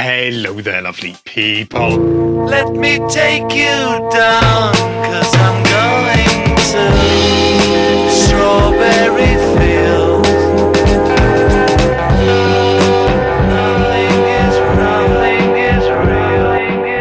Hello there, lovely people. Let me take you down, 'cause I'm going to Strawberry Fields. Nothing is real.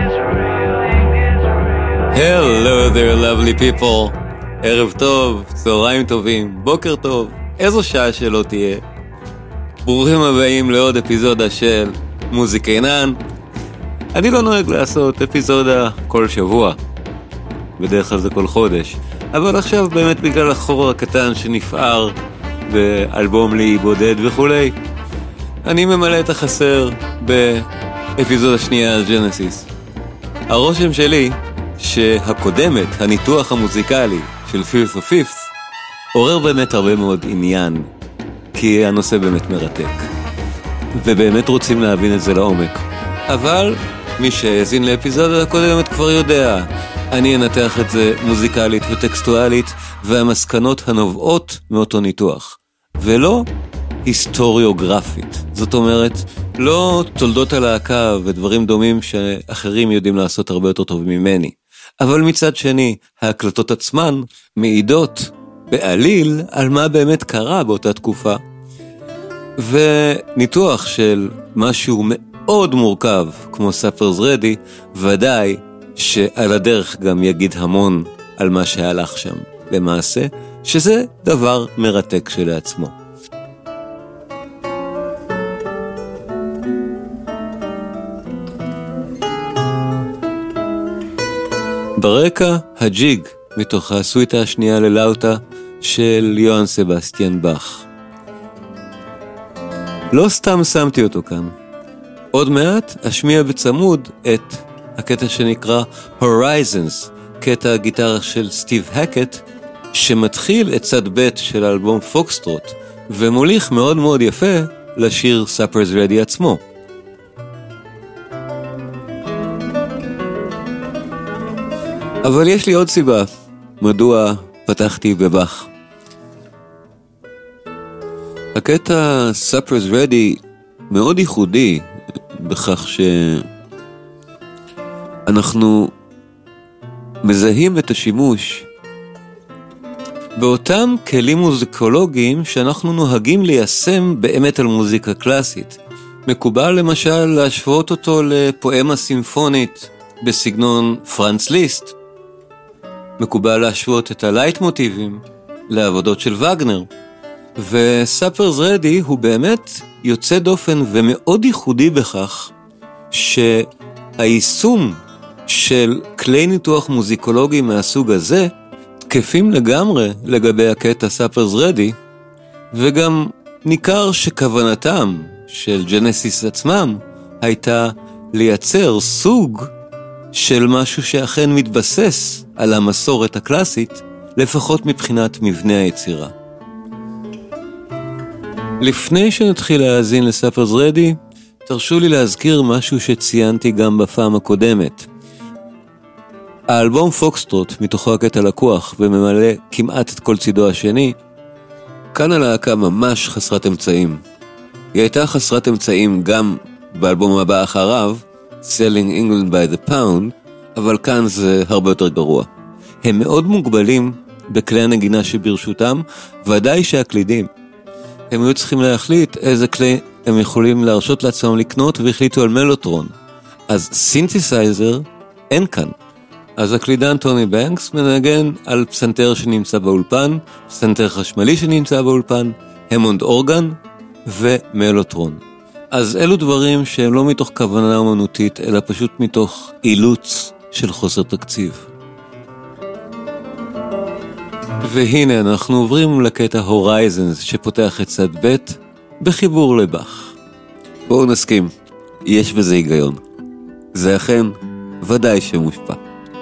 Hello there, lovely people. ערב טוב, צהריים טובים, בוקר טוב, איזו שעה שלא תהיה. ברוכים הבאים לעוד אפיזודה של מוזיקה עינן. אני לא נוהג לעשות אפיזודה כל שבוע, בדרך כלל זה כל חודש, אבל עכשיו באמת בגלל החור הקטן שנפער באלבום לי בודד וכולי, אני ממלא את החסר באפיזודה שנייה על ג'נסיס. הרושם שלי שהקודמת, הניתוח המוזיקלי של Fifth of Fifth, עורר באמת הרבה מאוד עניין, כי הנושא באמת מרתק, ובאמת רוצים להבין את זה לעומק. אבל מי שהאזין לאפיזודה הקודמת כבר יודע, אני אנתח את זה מוזיקלית וטקסטואלית, והמסקנות הנובעות מאותו ניתוח, ולא היסטוריוגרפית. זאת אומרת, לא תולדות הלהקה ודברים דומים שאחרים יודעים לעשות הרבה יותר טוב ממני. אבל מצד שני, ההקלטות עצמן מעידות בעליל על מה באמת קרה באותה תקופה. וניתוח של משהו מאוד מורכב, כמו Supper's Ready, ודאי שעל הדרך גם יגיד המון על מה שהלך שם. למעשה, שזה דבר מרתק שלעצמו. ברקע, הג'יג, מתוך הסוויטה השנייה ללאוטה של יוהאן סבסטיאן באך. לא סתם שמתי אותו כאן. עוד מעט אשמיע בצמוד את הקטע שנקרא Horizons, קטע הגיטרה של סטיב הקט, שמתחיל את צד ב' של האלבום פוקסטרוט, ומוליך מאוד מאוד יפה לשיר Supper's Ready עצמו. אבל יש לי עוד סיבה מדוע פתחתי בבאך. הקטע Supper's Ready מאוד ייחודי בכך שאנחנו מזהים את השימוש באותם כלים מוזיקולוגיים שאנחנו נוהגים ליישם באמת על מוזיקה קלאסית. מקובל למשל להשוות אותו לפואמה סימפונית בסגנון פרנץ ליסט. מקובל להשוות את הלייט מוטיבים לעבודות של וגנר. ו-Supper's Ready הוא באמת יוצא דופן ומאוד ייחודי בכך שהיישום של כלי ניתוח מוזיקולוגי מהסוג הזה תקפים לגמרי לגבי הקטע Supper's Ready, וגם ניכר שכוונתם של ג'נסיס עצמם הייתה לייצר סוג של משהו שאכן מתבסס על המסורת הקלאסית, לפחות מבחינת מבנה היצירה. לפני שנתחיל להאזין ל-Supper's Ready, תרשו לי להזכיר משהו שציינתי גם בפעם הקודמת. האלבום פוקסטרוט, מתוכו הקטע לקוח וממלא כמעט את כל צידו השני, כאן הלהקה ממש חסרת אמצעים. היא הייתה חסרת אמצעים גם באלבום הבא אחריו, Selling England by the Pound, אבל כאן זה הרבה יותר גרוע. הם מאוד מוגבלים בכלי הנגינה שברשותם, ודאי שהקלידים. הם היו צריכים להחליט איזה כלי הם יכולים להרשות לעצמם לקנות, והחליטו על מלוטרון. אז סינתסייזר אין כאן. אז הקלידן טוני בנקס מנגן על פסנתר שנמצא באולפן, פסנתר חשמלי שנמצא באולפן, המונד אורגן ומלוטרון. אז אלו דברים שהם לא מתוך כוונה אומנותית, אלא פשוט מתוך אילוץ של חוסר תקציב. והנה אנחנו עוברים לקטע Horizons שפותח את צד ב' בחיבור לבאך. בואו נסכים, יש בזה היגיון. זה אכן ודאי שמושפע.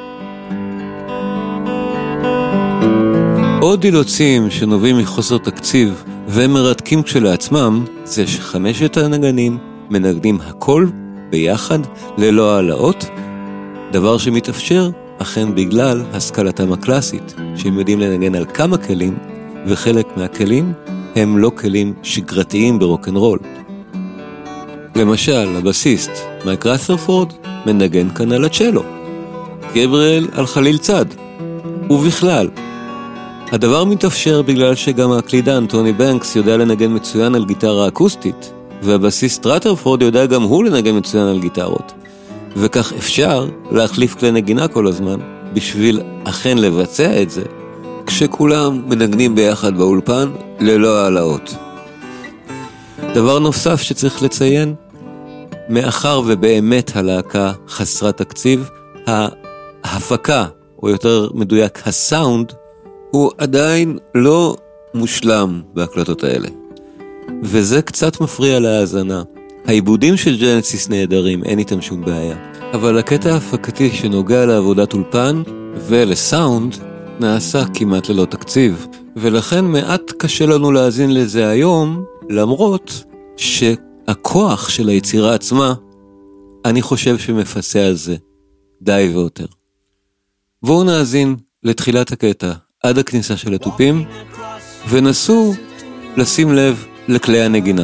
עוד אילוצים שנובעים מחוסר תקציב ומרתקים כשלעצמם, זה שחמשת הנגנים מנגנים הכל ביחד ללא העלאות, דבר שמתאפשר אכן בגלל השכלתם הקלאסית, שהם יודעים לנגן על כמה כלים, וחלק מהכלים הם לא כלים שגרתיים ברוקנרול. למשל, הבסיסט מייק רת'רפורד מנגן כאן על הצ'לו, גבריאל על חליל צד, ובכלל. הדבר מתאפשר בגלל שגם הקלידן טוני בנקס יודע לנגן מצוין על גיטרה אקוסטית, והבסיסט רת'רפורד יודע גם הוא לנגן מצוין על גיטרות. וכך אפשר להחליף כלי נגינה כל הזמן, בשביל אכן לבצע את זה, כשכולם מנגנים ביחד באולפן ללא העלאות. דבר נוסף שצריך לציין, מאחר ובאמת הלהקה חסרת תקציב, ההפקה, או יותר מדויק הסאונד, הוא עדיין לא מושלם בהקלטות האלה. וזה קצת מפריע להאזנה. העיבודים של ג'נסיס נהדרים, אין איתם שום בעיה. אבל הקטע ההפקתי שנוגע לעבודת אולפן ולסאונד נעשה כמעט ללא תקציב. ולכן מעט קשה לנו להאזין לזה היום, למרות שהכוח של היצירה עצמה, אני חושב שמפסה על זה די ויותר. בואו נאזין לתחילת הקטע עד הכניסה של התופים, ונסו לשים לב לכלי הנגינה.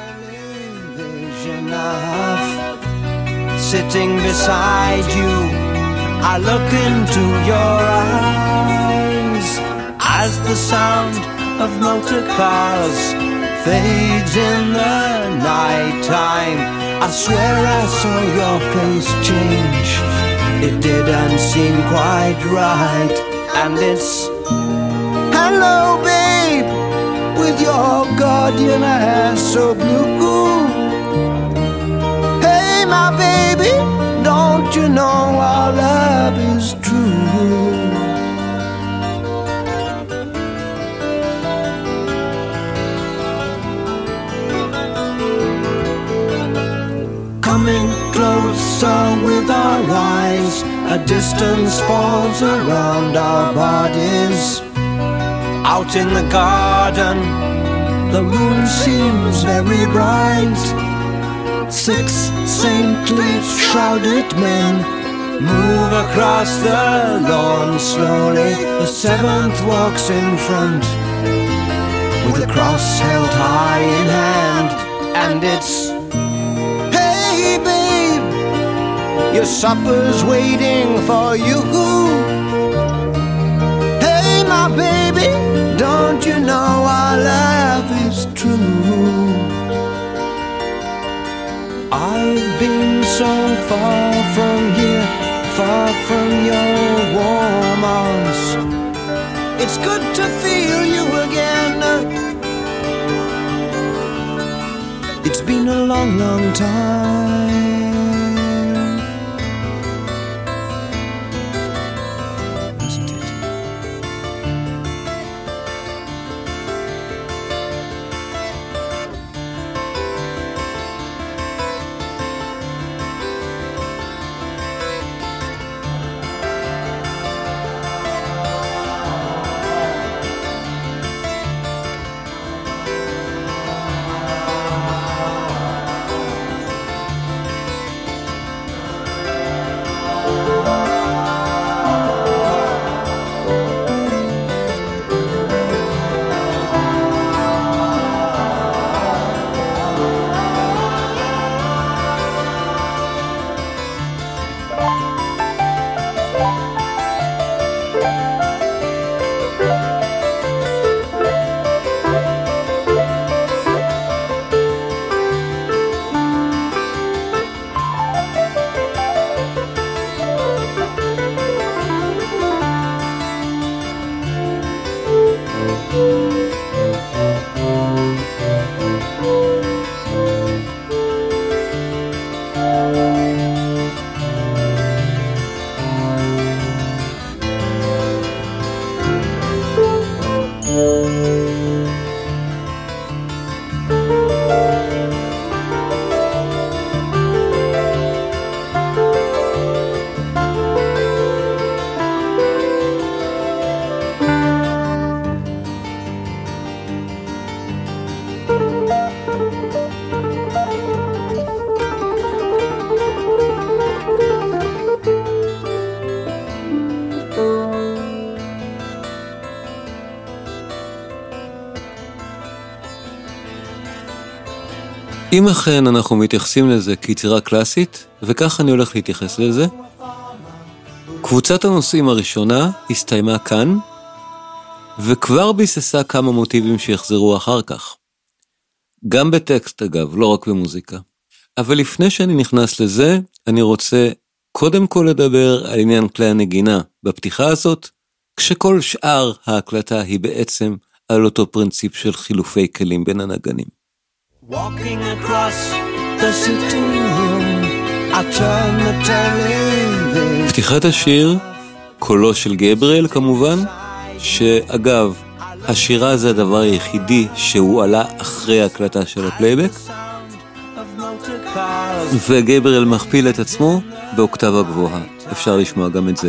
Sitting beside you, I look into your eyes as the sound of motor cars fades in the night time. I swear I saw your face change. It didn't seem quite right. And it's hello babe, with your guardian hair so blue. Hey my baby, don't you know our love is true? Coming closer with our eyes, a distance falls around our bodies. Out in the garden, the moon seems very bright. 6 saintly shrouded men move across the lawn slowly. The 7th walks in front with a cross held high in hand. And it's, hey babe, your supper's waiting for you. Hey my baby, don't you know our love is true? I've been so far from here, far from your warm arms. It's good to feel you again. It's been a long, long time. אם אכן אנחנו מתייחסים לזה כיצירה קלאסית, וכך אני הולך להתייחס לזה, קבוצת הנושאים הראשונה הסתיימה כאן, וכבר ביססה כמה מוטיבים שיחזרו אחר כך. גם בטקסט אגב, לא רק במוזיקה. אבל לפני שאני נכנס לזה, אני רוצה קודם כל לדבר על עניין כלי הנגינה בפתיחה הזאת, כשכל שאר ההקלטה היא בעצם על אותו פרינציפ של חילופי כלים בין הנגנים. Walking across the sitting room, I turn the television. פתיחת השיר, קולו של גבריאל כמובן, שאגב, השירה זה הדבר היחידי שהוא עלה אחרי ההקלטה של הפלייבק, וגבריאל מכפיל את עצמו באוקטבה גבוהה. אפשר לשמוע גם את זה.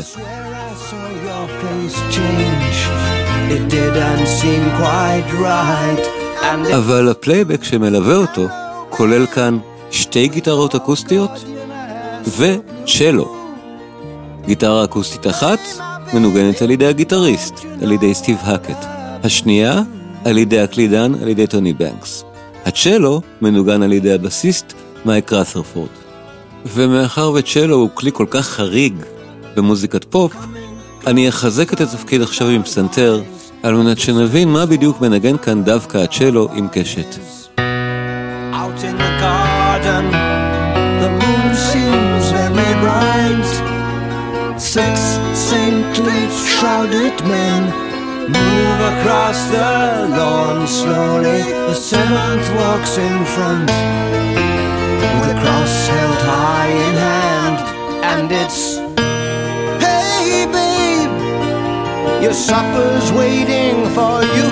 אבל הפלייבק שמלווה אותו כולל כאן 2 גיטרות אקוסטיות וצ'לו. גיטרה אקוסטית אחת מנוגנת על ידי הגיטריסט, על ידי סטיב הקט. השנייה על ידי הקלידן, על ידי טוני בנקס. הצ'לו מנוגן על ידי הבסיסט מייק רת'רפורד. ומאחר וצ'לו הוא כלי כל כך חריג במוזיקת פופ, אני אחזק את התפקיד עכשיו עם פסנתר, על מנת שנבין מה בדיוק מנגן כאן דווקא הצ'לו עם קשת. Out in the garden, the moon seems very bright. 6 saintly shrouded men move across the lawn slowly. The 7th walks in front with a cross held high in hand, and it's, hey babe, your supper's waiting for you.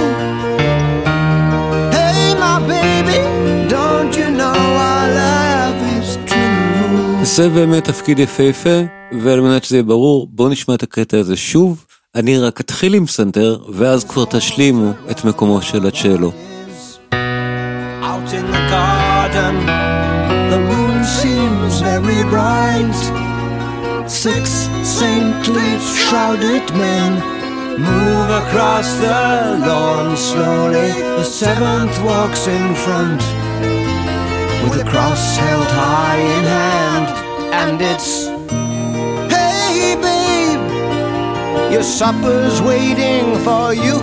Hey my baby, don't you know our love is true. זה באמת תפקיד יפהפה, ועל מנת שזה יהיה ברור, בואו נשמע את הקטע הזה שוב. אני רק אתחיל עם פסנתר, ואז כבר תשלימו את מקומו של הצ'לו. Out in the garden, the moon seems very bright. 6 saintly shrouded men move across the lawn slowly. The 7th walks in front with a cross held high in hand, and it's, hey babe, your supper's waiting for you.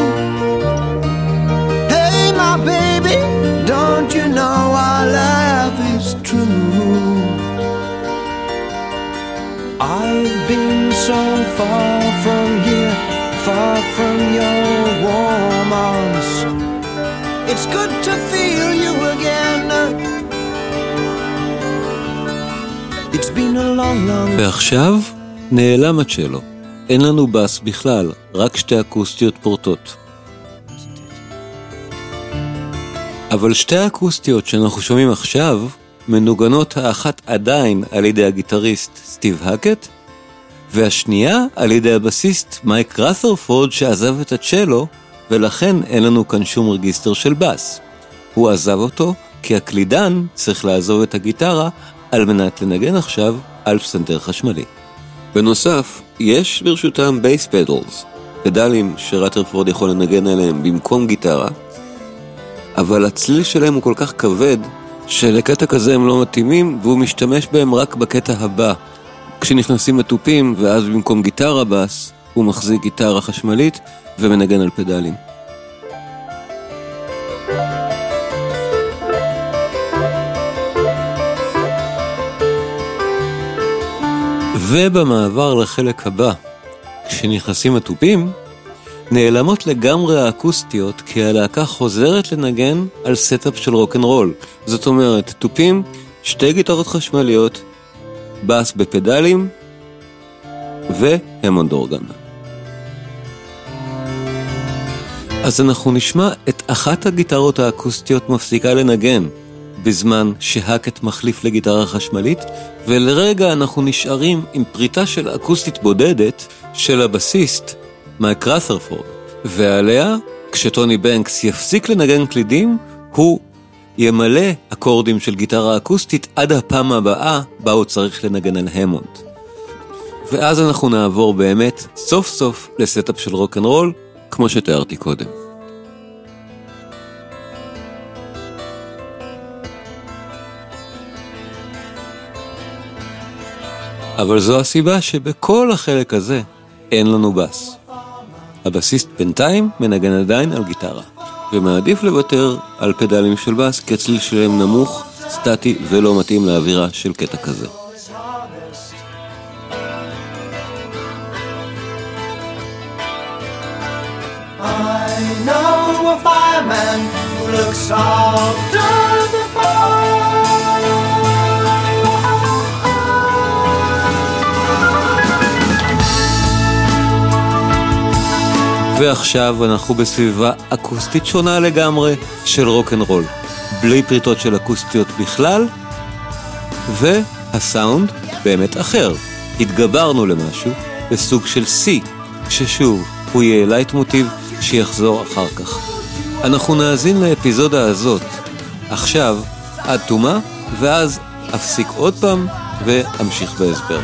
Hey my baby, don't you know our love is true. I've been so far from here, far from your warm arms. It's good to feel you again. It's been a long, long... ועכשיו נעלם הצ'לו. אין לנו בס בכלל, רק 2 אקוסטיות פורטות. אבל 2 האקוסטיות שאנחנו שומעים עכשיו, מנוגנות האחת עדיין על ידי הגיטריסט סטיב הקט, והשנייה על ידי הבסיסט מייק רת'רפורד שעזב את הצ'לו, ולכן אין לנו כאן שום רגיסטר של בס. הוא עזב אותו כי הקלידן צריך לעזוב את הגיטרה על מנת לנגן עכשיו על פסנתר חשמלי. בנוסף, יש ברשותם בייס פדלס, פדלים שרת'רפורד יכול לנגן עליהם במקום גיטרה, אבל הצליל שלהם הוא כל כך כבד שלקטע כזה הם לא מתאימים, והוא משתמש בהם רק בקטע הבא. כשנכנסים לתופים, ואז במקום גיטרה בס, הוא מחזיק גיטרה חשמלית ומנגן על פדלים. ובמעבר לחלק הבא, כשנכנסים לתופים, נעלמות לגמרי האקוסטיות, כי הלהקה חוזרת לנגן על סטאפ של רוק'נ'רול. זאת אומרת, תופים, 2 גיטרות חשמליות, בס בפדלים, והמונד אורגן. אז אנחנו נשמע את אחת הגיטרות האקוסטיות מפסיקה לנגן, בזמן שהקט מחליף לגיטרה חשמלית, ולרגע אנחנו נשארים עם פריטה של אקוסטית בודדת של הבסיסט, מייק רת'רפורד, ועליה, כשטוני בנקס יפסיק לנגן קלידים, הוא ימלא אקורדים של גיטרה אקוסטית עד הפעם הבאה בה הוא צריך לנגן על המונד. ואז אנחנו נעבור באמת סוף סוף לסטאפ של רוק'נ'רול, כמו שתיארתי קודם. אבל זו הסיבה שבכל החלק הזה אין לנו בס. הבסיסט בינתיים מנגן עדיין על גיטרה, ומעדיף לוותר על פדלים של בס, כי הצליל שלהם נמוך, סטטי ולא מתאים לאווירה של קטע כזה. I know a fireman who looks after the fire. ועכשיו אנחנו בסביבה אקוסטית שונה לגמרי של רוק'נ'רול, בלי פריטות של אקוסטיות בכלל, והסאונד באמת אחר. התגברנו למשהו בסוג של C, ששוב הוא יהיה לייט מוטיב שיחזור אחר כך. אנחנו נאזין לאפיזודה הזאת עכשיו עד תומה, ואז אפסיק עוד פעם ואמשיך בהסבר.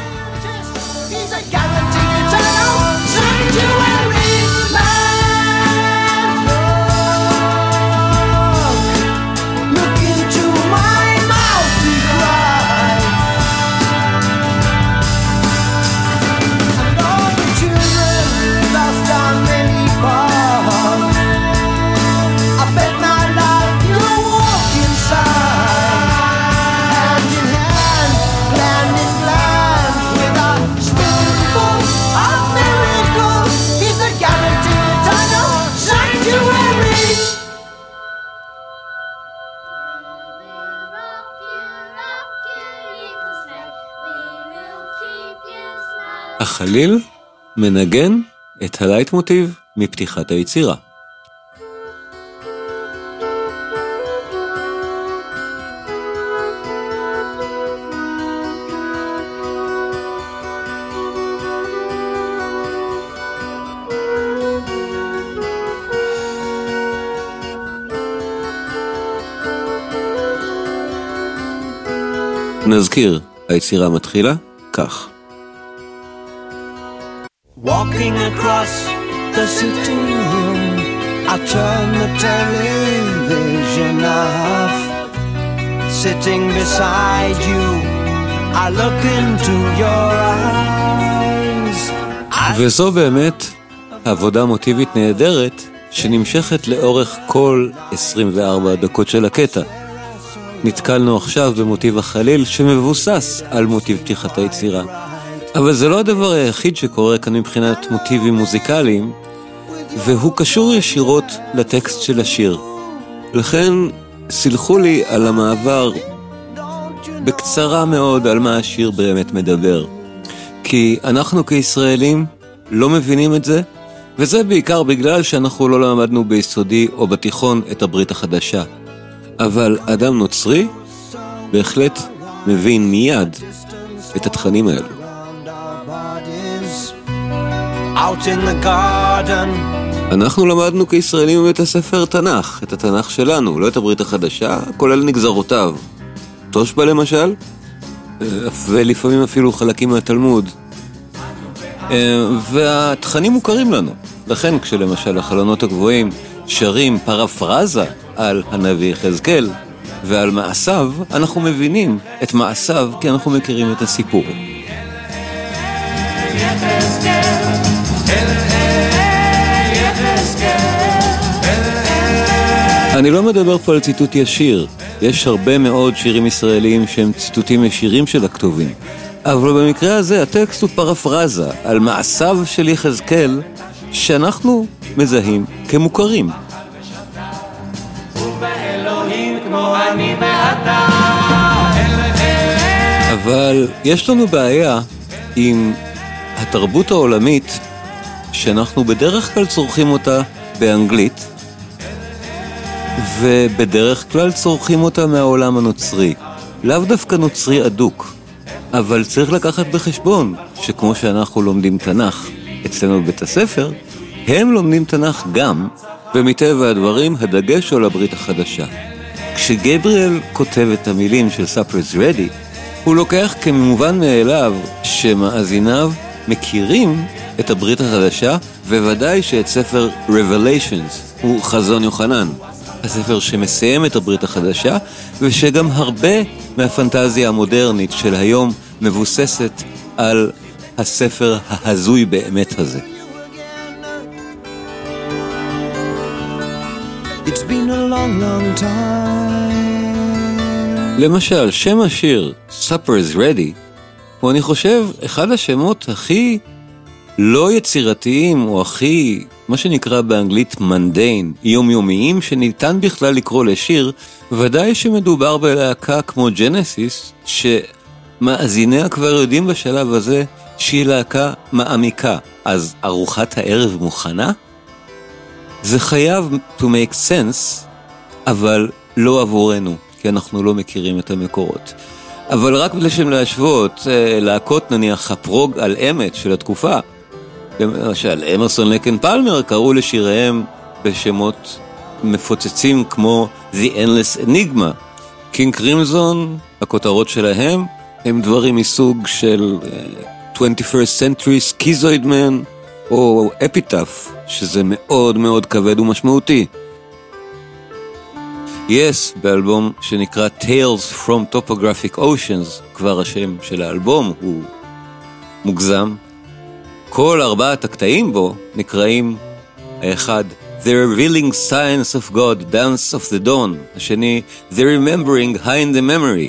החליל מנגן את הלייט מוטיב מפתיחת היצירה. נזכיר, היצירה מתחילה כך. Walking across the sitting room, I turn the television off. Sitting beside you, I look into your eyes. וזו באמת עבודה מוטיבית נהדרת שנמשכת לאורך כל 24 דקות של הקטע. נתקלנו עכשיו במוטיב החליל שמבוסס על מוטיב פתיחת היצירה. אבל זה לא הדבר היחיד שקורה כאן מבחינת מוטיבים מוזיקליים, והוא קשור ישירות לטקסט של השיר. לכן סלחו לי על המעבר בקצרה מאוד על מה השיר באמת מדבר. כי אנחנו כישראלים לא מבינים את זה, וזה בעיקר בגלל שאנחנו לא למדנו ביסודי או בתיכון את הברית החדשה. אבל אדם נוצרי בהחלט מבין מיד את התכנים האלו. אנחנו למדנו כישראלים בבית הספר תנ"ך, את התנ"ך שלנו, לא את הברית החדשה, כולל נגזרותיו. תושבע למשל, ולפעמים אפילו חלקים מהתלמוד. והתכנים מוכרים לנו. לכן כשלמשל החלונות הגבוהים שרים פרפרזה על הנביא יחזקאל ועל מעשיו, אנחנו מבינים את מעשיו כי אנחנו מכירים את הסיפור. אני לא מדבר פה על ציטוט ישיר, יש הרבה מאוד שירים ישראלים שהם ציטוטים ישירים של הכתובים, אבל במקרה הזה הטקסט הוא פרפרזה על מעשיו של יחזקאל שאנחנו מזהים כמוכרים. אבל יש לנו בעיה עם התרבות העולמית שאנחנו בדרך כלל צורכים אותה באנגלית, ובדרך כלל צורכים אותה מהעולם הנוצרי. לאו דווקא נוצרי אדוק, אבל צריך לקחת בחשבון שכמו שאנחנו לומדים תנ"ך אצלנו בבית הספר, הם לומדים תנ"ך גם, ומטבע הדברים הדגש הוא לברית החדשה. כשגבריאל כותב את המילים של Supper's Ready, הוא לוקח כמובן מאליו שמאזיניו מכירים את הברית החדשה, וודאי שאת ספר Revelations הוא חזון יוחנן, הספר שמסיים את הברית החדשה, ושגם הרבה מהפנטזיה המודרנית של היום מבוססת על הספר ההזוי באמת הזה. It's been a long, long time. למשל, שם השיר Supper is Ready הוא, אני חושב, אחד השמות הכי לא יצירתיים, או הכי, מה שנקרא באנגלית מנדיין, יומיומיים, שניתן בכלל לקרוא לשיר. ודאי שמדובר בלהקה כמו ג'נסיס, שמאזיניה כבר יודעים בשלב הזה שהיא להקה מעמיקה. אז ארוחת הערב מוכנה? זה חייב to make sense, אבל לא עבורנו, כי אנחנו לא מכירים את המקורות. אבל רק לשם להשוות, להקות נניח הפרוג על אמת של התקופה, למשל אמרסון לקן פלמר קראו לשיריהם בשמות מפוצצים כמו The Endless Enigma. קינג קרימזון, הכותרות שלהם הם דברים מסוג של 21st Century Schizoid Man או Epitaph, שזה מאוד מאוד כבד ומשמעותי. Yes, באלבום שנקרא Tales from Topographic Oceans, כבר השם של האלבום הוא מוגזם. כל 4 הקטעים בו נקראים, האחד The Revealing Science of God, Dance of the Dawn, השני The Remembering High in the Memory,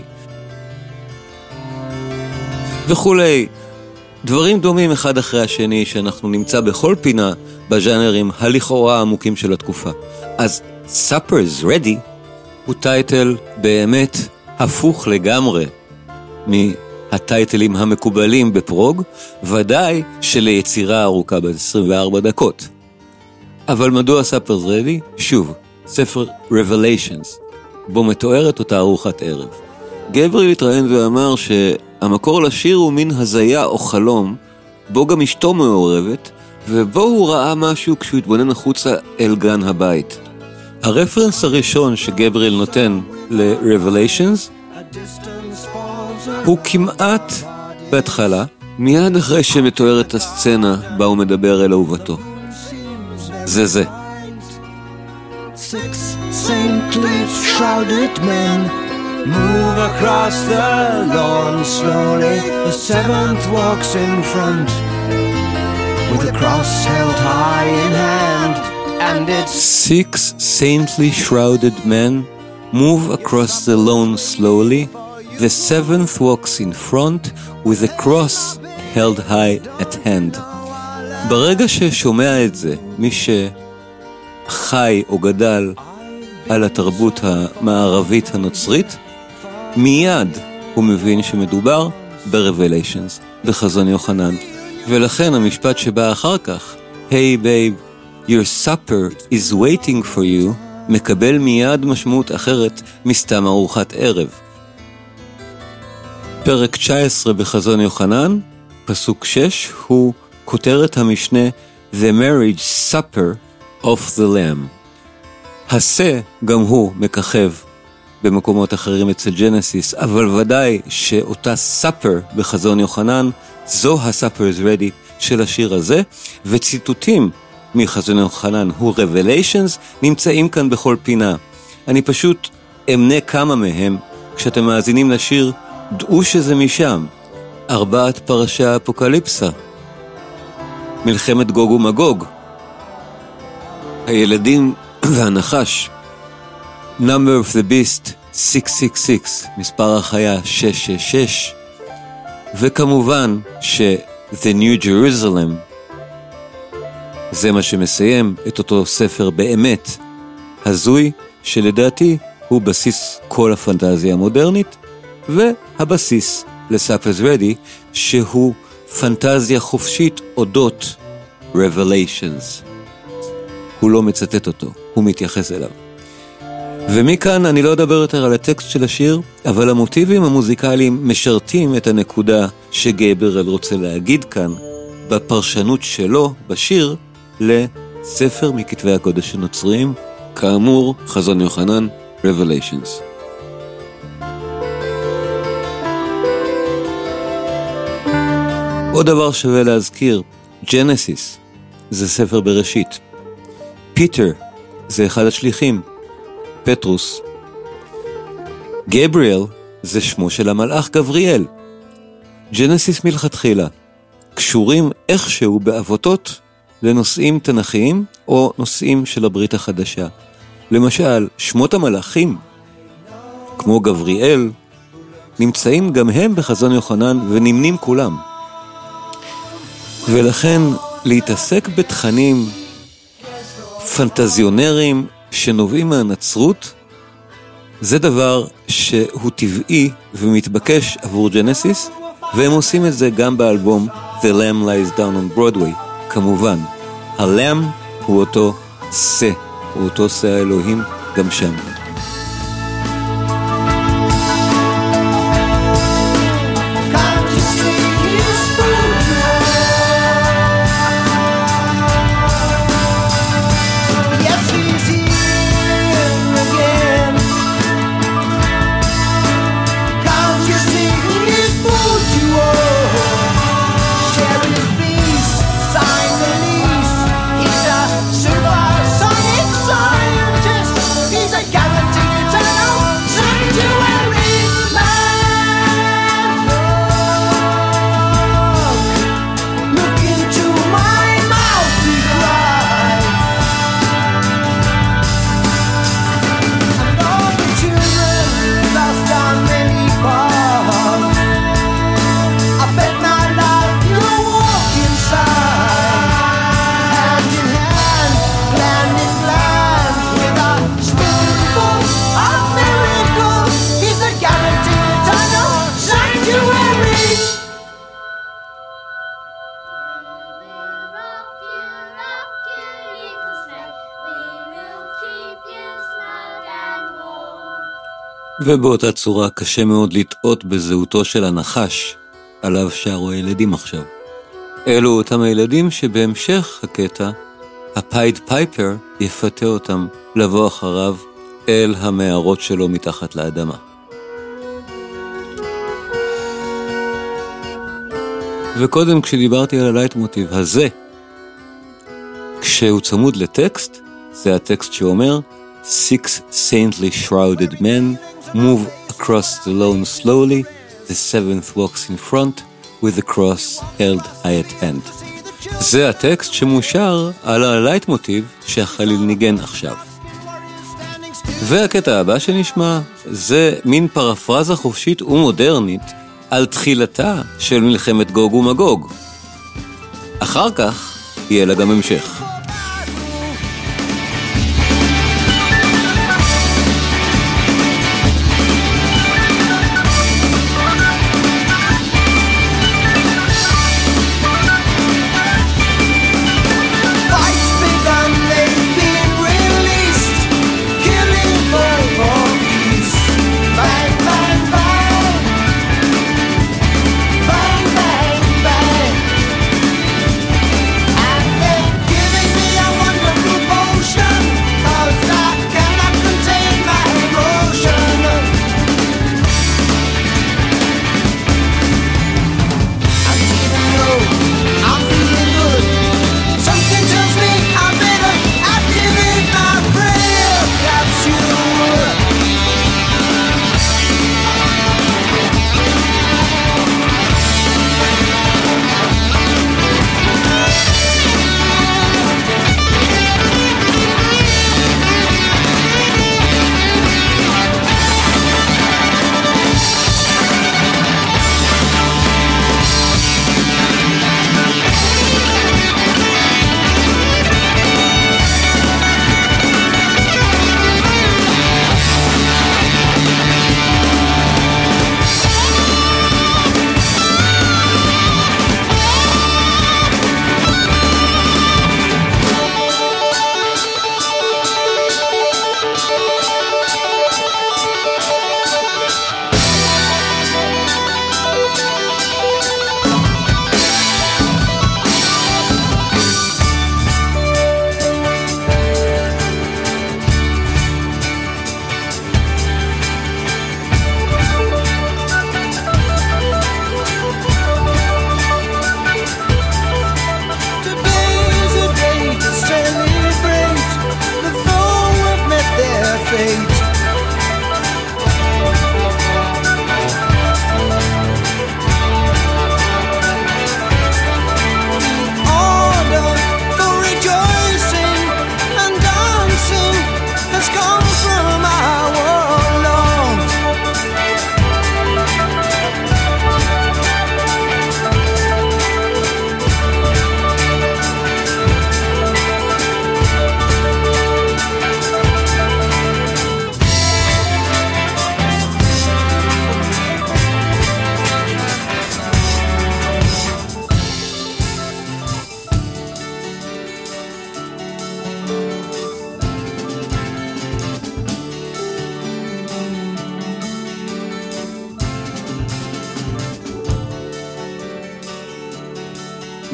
וכולי. דברים דומים אחד אחרי השני שאנחנו נמצא בכל פינה בז'אנרים הלכאורה העמוקים של התקופה. אז Supper is Ready הוא טייטל באמת הפוך לגמרי מהטייטלים המקובלים בפרוג, ודאי שליצירה ארוכה ב-24 דקות. אבל מדוע Supper is Ready? שוב, ספר Revelations, בו מתוארת אותה ארוחת ערב. גבריאל התראיין ואמר שהמקור לשיר הוא מין הזיה או חלום, בו גם אשתו מעורבת, ובו הוא ראה משהו כשהוא התבונן החוצה אל גן הבית. הרפרנס הראשון שגבריאל נותן ל-Revelations הוא כמעט בהתחלה, מיד אחרי שמתוארת הסצנה בה הוא מדבר אל אהובתו. זה. Six saintly shrouded men move across the lawn slowly. The seventh walks in front with a cross held high in hand. And it's 6 saintly shrouded men move across the lawn slowly. The seventh walks in front with a cross held high at hand. ברגע ששומע את זה, מי שחי או גדל על התרבות המערבית הנוצרית, מיד הוא מבין שמדובר ב-Revelations, בחזון יוחנן. ולכן המשפט שבא אחר כך, Hey babe, your supper is waiting for you, מקבל מיד משמעות אחרת מסתם ארוחת ערב. פרק 19 בחזון יוחנן, פסוק 6, הוא כותרת המשנה The Marriage Supper of the Lamb. הסה גם הוא מככב במקומות אחרים אצל ג'נסיס, אבל ודאי שאותה Supper בחזון יוחנן, זו ה-Supper is Ready של השיר הזה, וציטוטים מחזון יוחנן הוא Revelations נמצאים כאן בכל פינה. אני פשוט אמנה כמה מהם. כשאתם מאזינים לשיר, דעו שזה משם. 4 פרשי האפוקליפסה, מלחמת גוג ומגוג, הילדים והנחש, Number of the Beast 666, מספר החיה 666, וכמובן The New Jerusalem, זה מה שמסיים את אותו ספר באמת הזוי, שלדעתי הוא בסיס כל הפנטזיה המודרנית, והבסיס ל-Supper is Ready, שהוא פנטזיה חופשית אודות Revelations. הוא לא מצטט אותו, הוא מתייחס אליו. ומכאן אני לא אדבר יותר על הטקסט של השיר, אבל המוטיבים המוזיקליים משרתים את הנקודה שגבריאל רוצה להגיד כאן, בפרשנות שלו בשיר לספר מכתבי הקודש הנוצריים, כאמור חזון יוחנן, Revelations. עוד דבר שווה להזכיר, ג'נסיס זה ספר בראשית. פיטר זה אחד השליחים, פטרוס. גבריאל זה שמו של המלאך גבריאל. ג'נסיס מלכתחילה קשורים איכשהו בעבותות לנושאים תנכיים או נושאים של הברית החדשה. למשל, שמות המלאכים, כמו גבריאל, נמצאים גם הם בחזון יוחנן ונמנים כולם. ולכן להתעסק בתכנים פנטזיונרים שנובעים מהנצרות, זה דבר שהוא טבעי ומתבקש עבור ג'נסיס, והם עושים את זה גם באלבום The Lamb Lies Down on Broadway. כמובן, הלם הוא אותו שא, הוא אותו שא האלוהים גם שם. ובאותה צורה קשה מאוד לטעות בזהותו של הנחש, עליו שרו הילדים עכשיו. אלו אותם הילדים שבהמשך הקטע, הפייד פייפר יפתה אותם לבוא אחריו אל המערות שלו מתחת לאדמה. וקודם כשדיברתי על הלייט מוטיב הזה, כשהוא צמוד לטקסט, זה הטקסט שאומר, Six saintly shrouded men move across the lawn slowly, the seventh walks in front with the cross held high at hand. זה הטקסט שמושר על הלייט מוטיב שהחליל ניגן עכשיו. והקטע הבא שנשמע זה מין פרפרזה חופשית ומודרנית על תחילתה של מלחמת גוג ומגוג. אחר כך יהיה לה גם המשך. Giving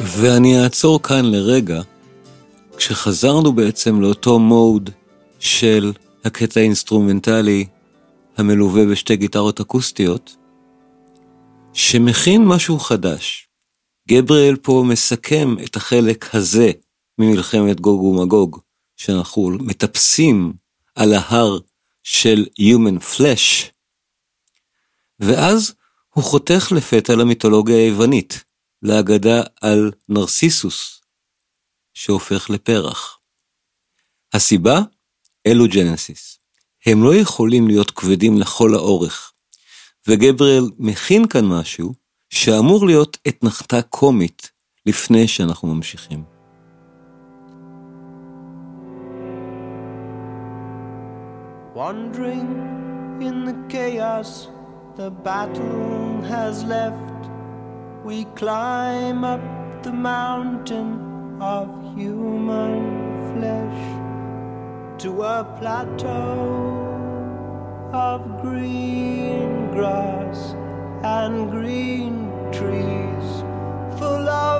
ואני אעצור כאן לרגע, כשחזרנו בעצם לאותו מוד של הקטע האינסטרומנטלי המלווה בשתי גיטרות אקוסטיות, שמכין משהו חדש. גבריאל פה מסכם את החלק הזה ממלחמת גוג ומגוג, שאנחנו מטפסים על ההר של Human Flesh, ואז הוא חותך לפתע למיתולוגיה היוונית, לאגדה על נרסיסוס, שהופך לפרח. הסיבה? אלו ג'נסיס. הם לא יכולים להיות כבדים לכל האורך, וגבריאל מכין כאן משהו שאמור להיות אתנחתה קומית לפני שאנחנו ממשיכים. Wandering in the chaos the battle has left, we climb up the mountain of human flesh to a plateau of green grass and green trees full of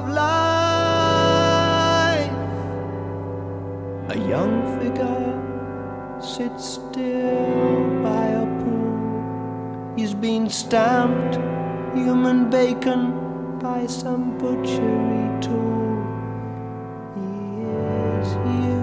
life. A young figure sits still by a pool. He's been stamped human bacon by some butchery tool. He is you.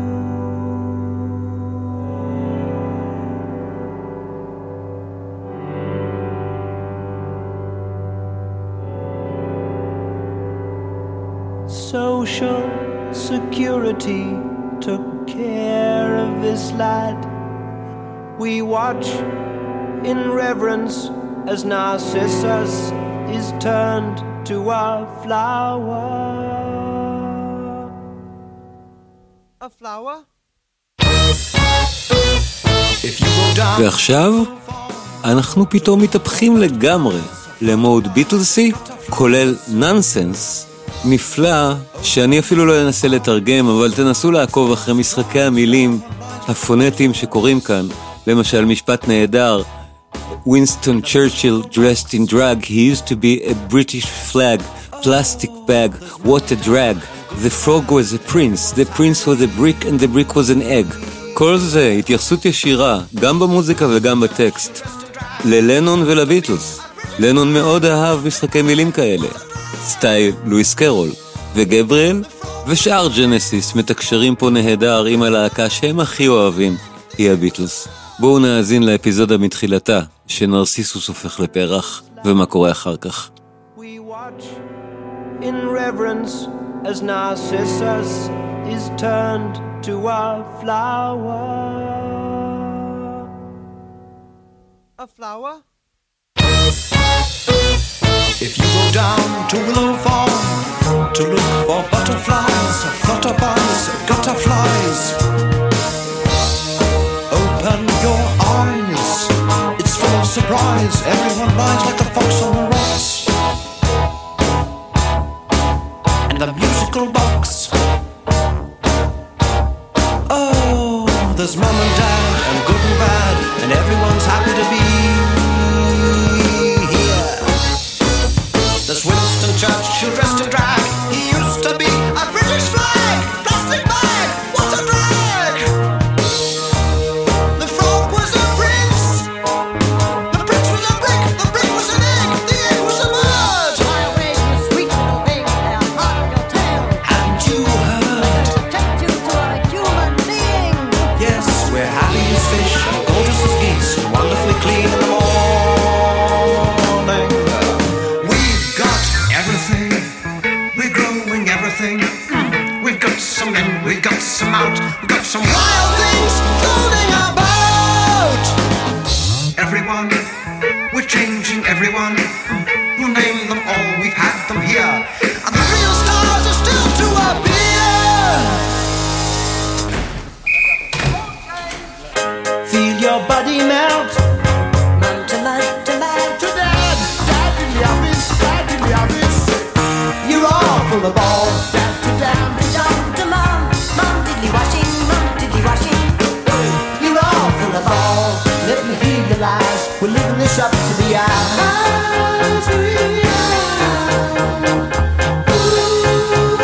Social security took care of this lad. We watch in reverence as Narcissus is turned to a flower. A flower? ועכשיו אנחנו פתאום מתהפכים לגמרי למוד ביטלסי, כולל ננסנס, נפלא, שאני אפילו לא אנסה לתרגם, אבל תנסו לעקוב אחרי משחקי המילים הפונטיים שקורים כאן. למשל משפט נהדר, Winston Churchill dressed in drag, he used to be a British flag, plastic bag, what a drag. The frog was a prince, the prince was a brick and the brick was an egg. כל זה התייחסות ישירה, גם במוזיקה וגם בטקסט, ללנון ולביטלס. לנון מאוד אהב משחקי מילים כאלה, סטייל לואיס קרול, וגבריאל ושאר ג'נסיס מתקשרים פה נהדר עם הלהקה שהם הכי אוהבים, היא הביטלס. בואו נאזין לאפיזודה מתחילתה, שנרסיסוס הופך לפרח, ומה קורה אחר כך. We watch in reverence as Narcissus is turned to a flower. A flower? If you go down to Willow Farm to look for butterflies, flutterbugs, gutterflies, open your eyes, it's full of surprise. Everyone lies like a fox on the rocks. And the musical box, oh, there's mom and dad and good and bad, and everyone's happy to be here. There's Winston Churchill dressed in drag, he used to be a British flag, plastic bag, what a drag. The frog was a prince, the prince was a brick, the brick was an egg, the egg was a bird. Fly away, you sweet little thing, and hug your tail. And you heard, Protect you to a human being. yes, we're happy as fish and gorgeous as geese, wonderfully clean in the morning. We've got everything, we're growing everything. We've got some in, we've got some out, we've got some wild things floating about. Everyone, we're changing everyone. We'll name them all, we've had them here. And the real stars are still to appear. Feel your body melt. Man to man to man. To dad, dad in the office, dad in the office. You're all full of ball. Dad to dad, Dum to mum, mum diddly washing, you're all full of ball. Let me hear your lies. We're living this up to the eyes.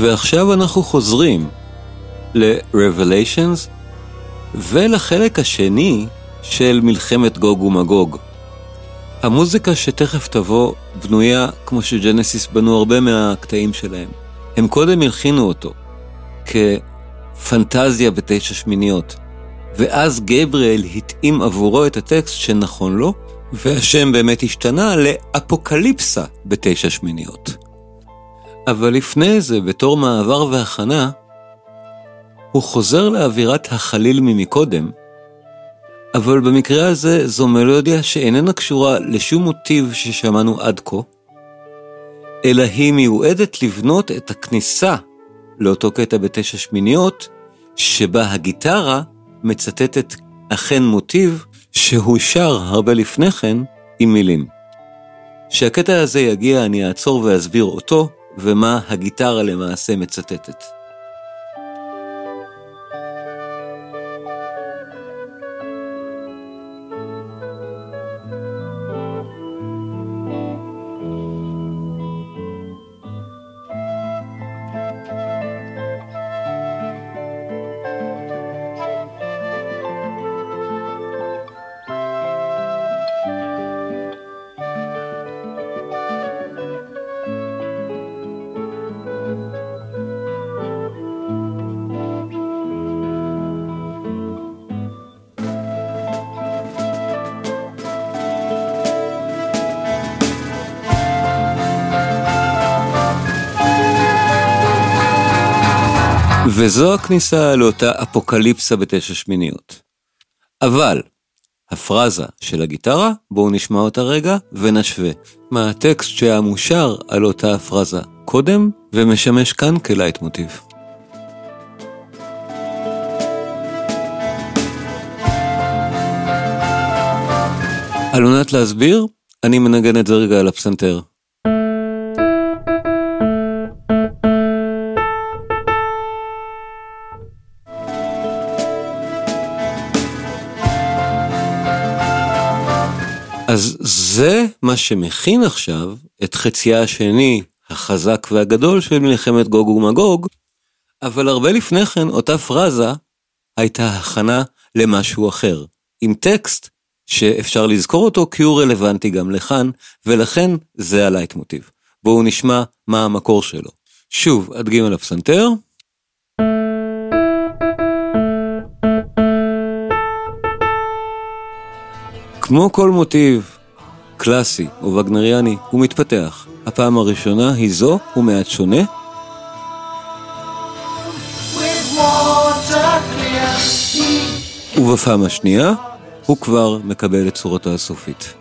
ועכשיו אנחנו חוזרים ל-Revelations ולחלק השני של מלחמת גוג ומגוג. המוזיקה שתכף תבוא בנויה כמו שג'נסיס בנו הרבה מהקטעים שלהם. הם קודם הלחינו אותו כפנטזיה בתשע שמיניות, ואז גבריאל התאים עבורו את הטקסט שנכון לו, והשם באמת השתנה לאפוקליפסה בתשע שמיניות. אבל לפני זה, בתור מעבר והכנה, הוא חוזר לאווירת החליל ממקודם, אבל במקרה הזה זו מלודיה שאיננה קשורה לשום מוטיב ששמענו עד כה, אלא היא מיועדת לבנות את הכניסה לאותו קטע בתשע שמיניות, שבה הגיטרה מצטטת אכן מוטיב שהוא שר הרבה לפני כן עם מילים. שהקטע הזה יגיע אני אעצור ואסביר אותו, ומה הגיטרה למעשה מצטטת. וזו הכניסה לאותה אפוקליפסה בתשע שמיניות. אבל הפרזה של הגיטרה, בואו נשמע אותה רגע ונשווה מה הטקסט שהיה מושר על אותה הפרזה קודם ומשמש כאן כלייט מוטיב. על מנת להסביר, אני מנגן את זה רגע על הפסנתר. אז זה מה שמכין עכשיו את חצייה השני, החזק והגדול של מלחמת גוג ומגוג, אבל הרבה לפני כן אותה פרזה הייתה הכנה למשהו אחר, עם טקסט שאפשר לזכור אותו כי הוא רלוונטי גם לכאן, ולכן זה הלייט מוטיב. בואו נשמע מה המקור שלו. שוב, אדגים על הפסנתר. כמו כל מוטיב קלאסי או וגנריאני, הוא מתפתח. הפעם הראשונה היא זו, הוא מעט שונה. ובפעם השנייה, הוא כבר מקבל את צורתו הסופית.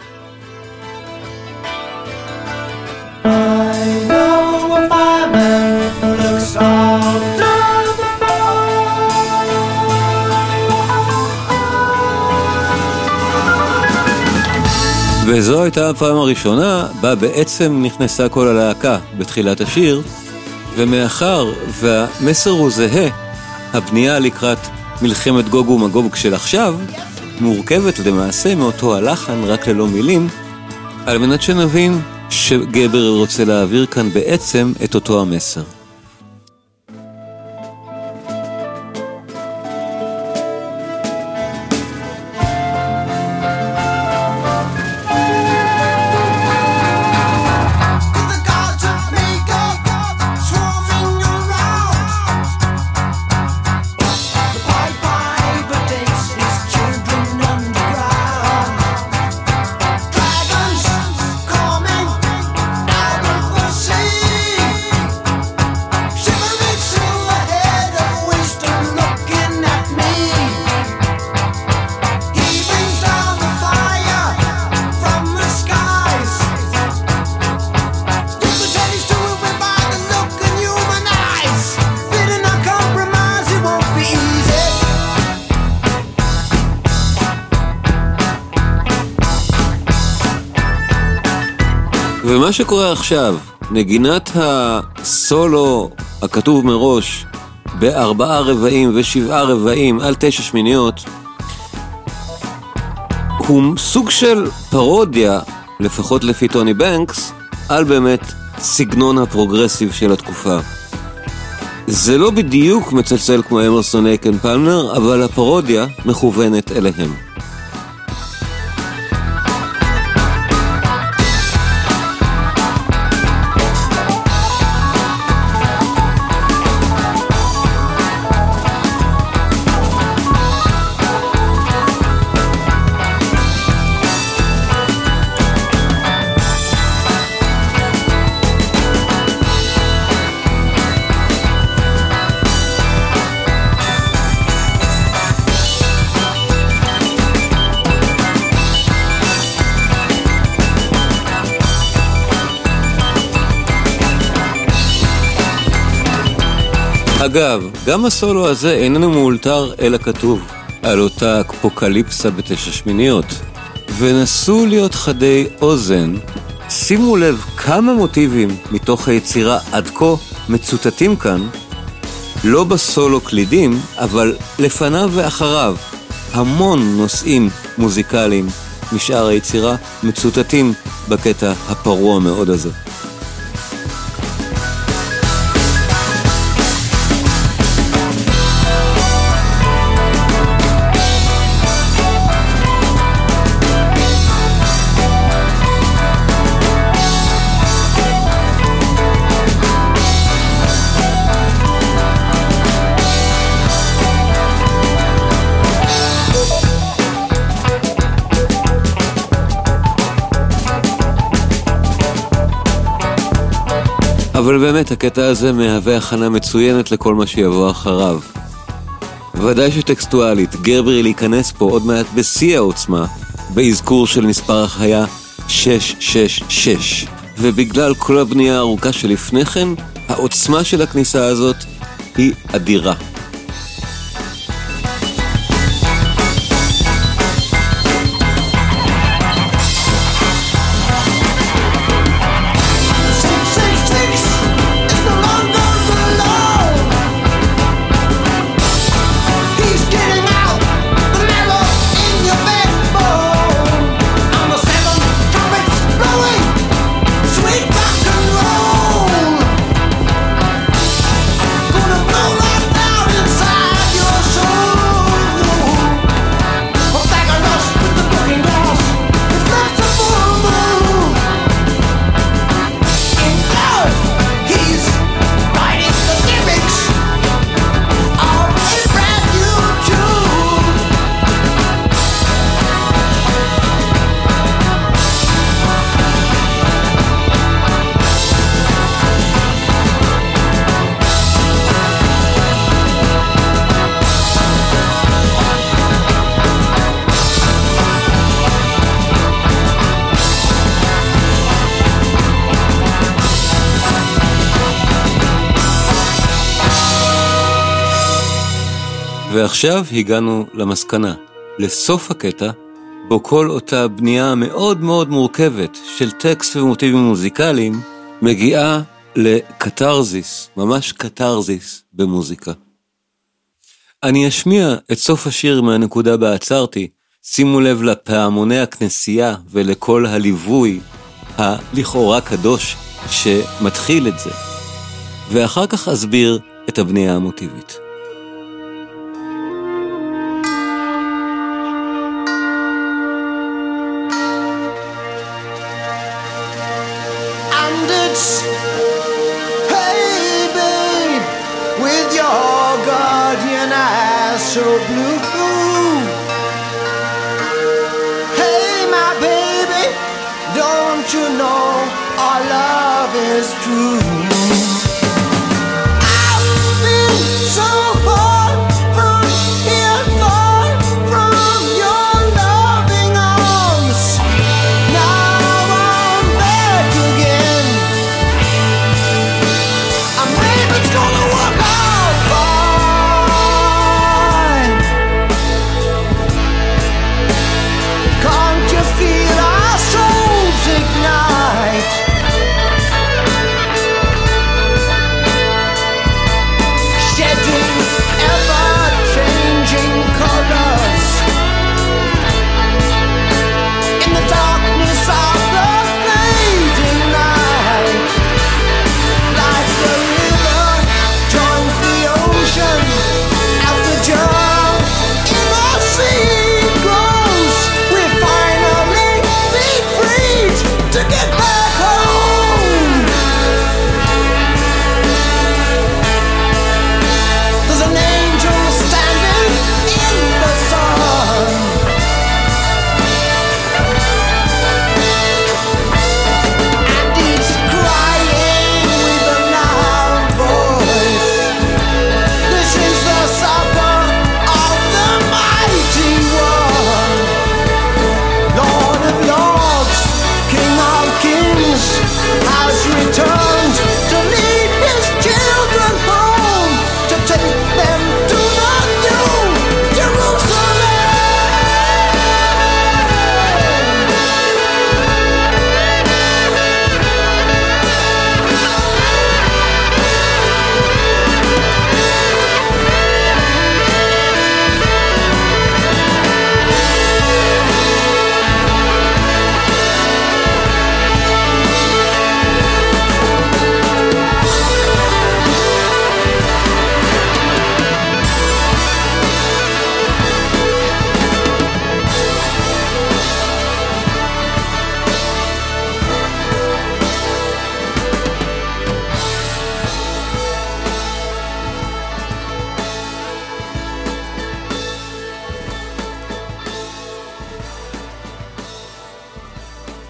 וזו הייתה הפעם הראשונה בה בעצם נכנסה כל הלהקה בתחילת השיר, ומאחר והמסר הוא זהה, הבנייה לקראת מלחמת גוג ומגוג של עכשיו מורכבת למעשה מאותו הלחן רק ללא מילים, על מנת שנבין שגבר רוצה להעביר כאן בעצם את אותו המסר. ומה שקורה עכשיו, נגינת הסולו הכתוב מראש ב4 רבעים ו7 רבעים על 9 שמיניות, הוא סוג של פרודיה, לפחות לפי טוני בנקס, על באמת סגנון הפרוגרסיב של התקופה. זה לא בדיוק מצלצל כמו אמרסון אייק אנד פלמר, אבל הפרודיה מכוונת אליהם. אגב, גם הסולו הזה איננו מאולתר אלא כתוב על אותה אפוקליפסה ב9/8. ונסו להיות חדי אוזן, שימו לב כמה מוטיבים מתוך היצירה עד כה מצוטטים כאן, לא בסולו קלידים, אבל לפניו ואחריו. המון נושאים מוזיקליים משאר היצירה מצוטטים בקטע הפרוע מאוד הזה. אבל באמת הקטע הזה מהווה הכנה מצוינת לכל מה שיבוא אחריו. ודאי שטקסטואלית, גרברי להיכנס פה עוד מעט בשיא העוצמה, באזכור של מספר החיה 666. ובגלל כל הבנייה הארוכה שלפני כן, העוצמה של הכניסה הזאת היא אדירה. ועכשיו הגענו למסקנה, לסוף הקטע, בו כל אותה בנייה מאוד מאוד מורכבת של טקסט ומוטיבים מוזיקליים, מגיעה לקטרזיס, ממש קטרזיס במוזיקה. אני אשמיע את סוף השיר מהנקודה בה עצרתי, שימו לב לפעמוני הכנסייה ולכל הליווי הלכאורה קדוש שמתחיל את זה, ואחר כך אסביר את הבנייה המוטיבית. Hey babe, with your guardian eyes so blue. Hey my baby, don't you know our love is true? I've been so far from here, far from your loving arms. Now I'm back again. I'm ready, it's gonna work out fine. Can't you feel our souls ignite?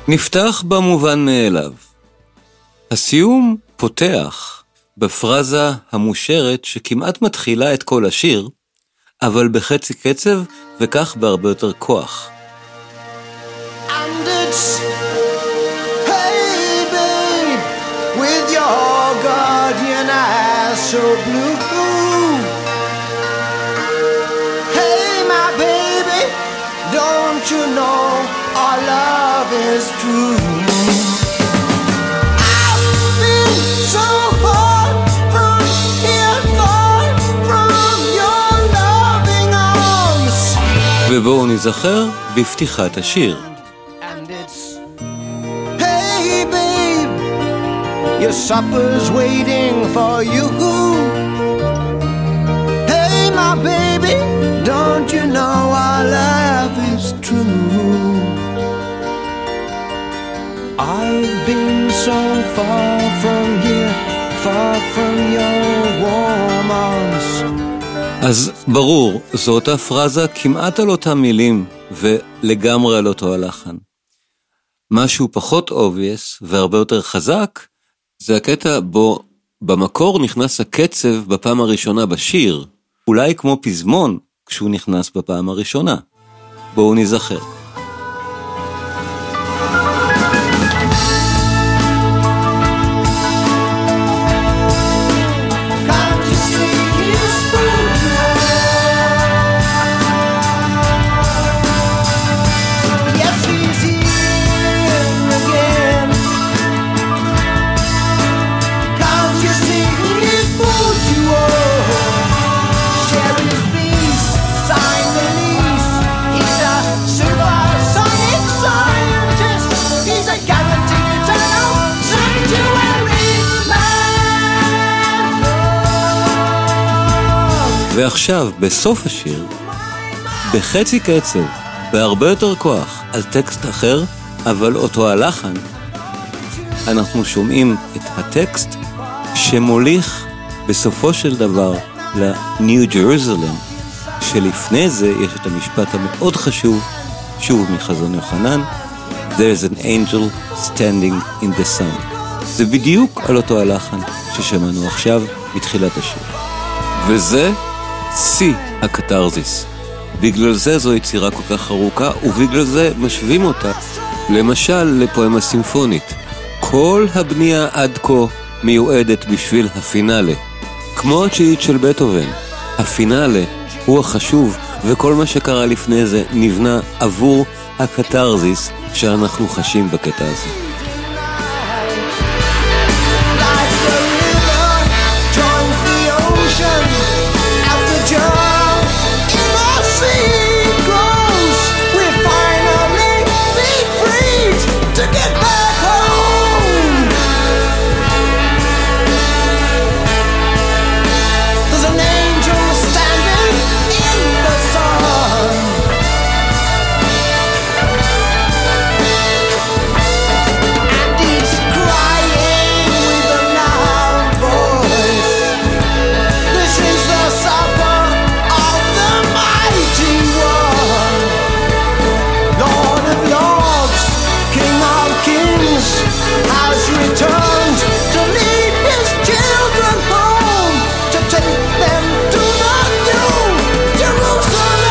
נפתח במובן מאליו. הסיום פותח בפרזה המושרת שכמעט מתחילה את כל השיר, אבל בחצי קצב וכך בהרבה יותר כוח. And it's, hey babe, with your guardian eyes so blue. Hey my baby, don't you know our love is true? I've been so far from here, far from your loving arms. ובואו נזכר בפתיחת השיר. And it's, hey babe, your supper's waiting for you. Hey my baby, don't you know our love is true? I've been so far from here, far from your warm arms. אז ברור, זו אותה פרזה כמעט על אותם מילים ולגמרי על אותו הלחן. משהו פחות obvious והרבה יותר חזק, זה הקטע בו במקור נכנס הקצב בפעם הראשונה בשיר, אולי כמו פזמון כשהוא נכנס בפעם הראשונה. בואו נזכר. Can't you see his food? Yes, he's here again. Can't you see his food? You share his peace, sign the lease. He's a supersonic scientist. He's a guaranteed eternal sanctuary man. ועכשיו, בסוף השיר, בחצי קצב, בהרבה יותר כוח, על טקסט אחר, אבל אותו הלחן, אנחנו שומעים את הטקסט שמוליך בסופו של דבר לניו ג'רוזלם, שלפני זה יש את המשפט המאוד חשוב, שוב מחזון יוחנן, There's an angel standing in the sun. זה בדיוק על אותו הלחן ששמענו עכשיו בתחילת השיר. וזה שיא הקתרזיס. בגלל זה זו יצירה כל כך ארוכה, ובגלל זה משווים אותה, למשל לפואמה סימפונית. כל הבנייה עד כה מיועדת בשביל הפינאלה. כמו התשיעית של בטהובן, הפינאלה הוא החשוב, וכל מה שקרה לפני זה נבנה עבור הקתרזיס שאנחנו חשים בקטע הזה. Like the river joins the ocean, as the jar in the sea grows, we finally be free to get back home. There's an angel standing in the sun. And he's crying with a loud voice. This is the supper of the mighty one. Lord of lords, King of kings, has returned to lead his children home, to take them to the new Jerusalem.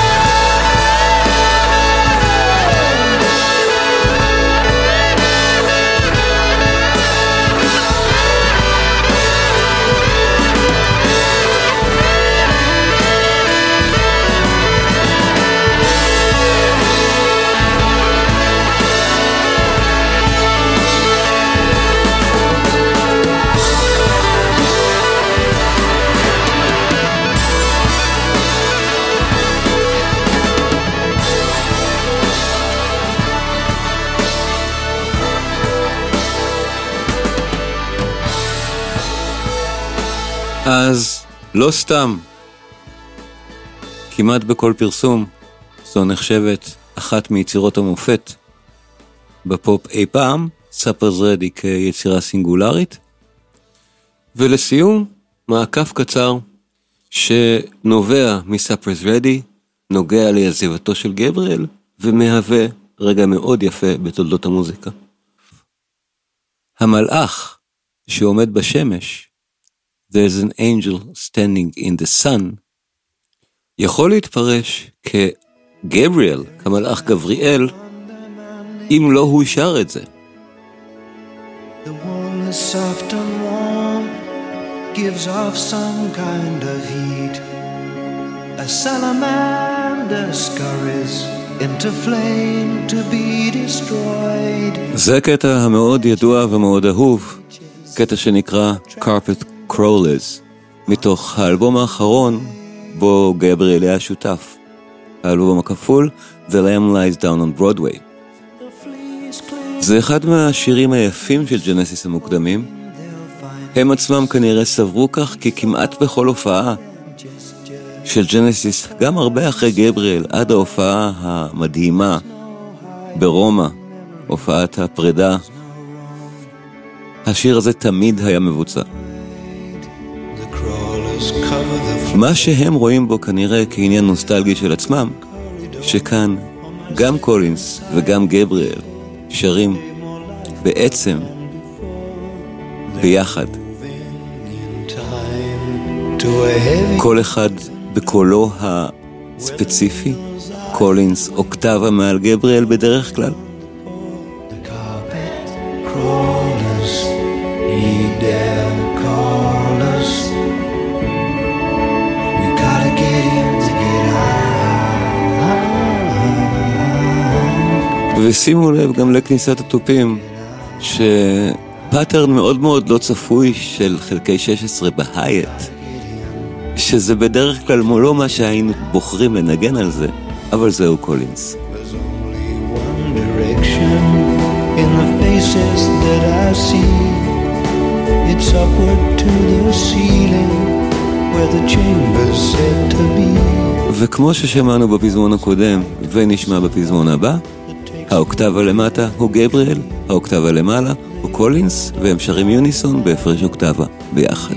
אז לא סתם, כמעט בכל פרסום, זו נחשבת אחת מיצירות המופת בפופ אי פעם, Supper's Ready כיצירה סינגולרית. ולסיום, מעקף קצר שנובע מ-Supper's Ready, נוגע לעזיבתו של גבריאל, ומהווה רגע מאוד יפה בתולדות המוזיקה. המלאך שעומד בשמש, there's an angel standing in the sun, יכול להתפרש כגבריאל, כמלאך גבריאל, אם לא הוא שר את זה. The wall is soft and warm, gives off some kind of heat. A salamander scurries into flame to be destroyed. זה קטע המאוד ידוע ומאוד אהוב, קטע שנקרא Carpet Crawlers, מתוך האלבום האחרון בו גבריאל היה שותף. האלבום הכפול, The Lamb Lies Down on Broadway. זה אחד מהשירים היפים של ג'נסיס המוקדמים. הם עצמם כנראה סברו כך, כי כמעט בכל הופעה של ג'נסיס, גם הרבה אחרי גבריאל, עד ההופעה המדהימה ברומא, הופעת הפרידה, השיר הזה תמיד היה מבוצע. מה שהם רואים בו כנראה כעניין נוסטלגי של עצמם, שכאן גם קולינס וגם גבריאל שרים בעצם ביחד, כל אחד בקולו הספציפי. קולינס אוקטבה מעל גבריאל בדרך כלל. ושימו לב גם לכניסת התופים, שפאטרן מאוד מאוד לא צפוי של חלקי 16 בהייט, שזה בדרך כלל לא מה שהיינו בוחרים לנגן על זה, אבל זהו קולינס. There's only one direction in the faces that I see. It's upward to the ceiling where the chamber's said to be. וכמו ששמענו בפזמון הקודם ונשמע בפזמון הבא, האוקטבה למטה הוא גבריאל, האוקטבה למעלה הוא קולינס, והם שרים יוניסון בהפרש אוקטבה ביחד.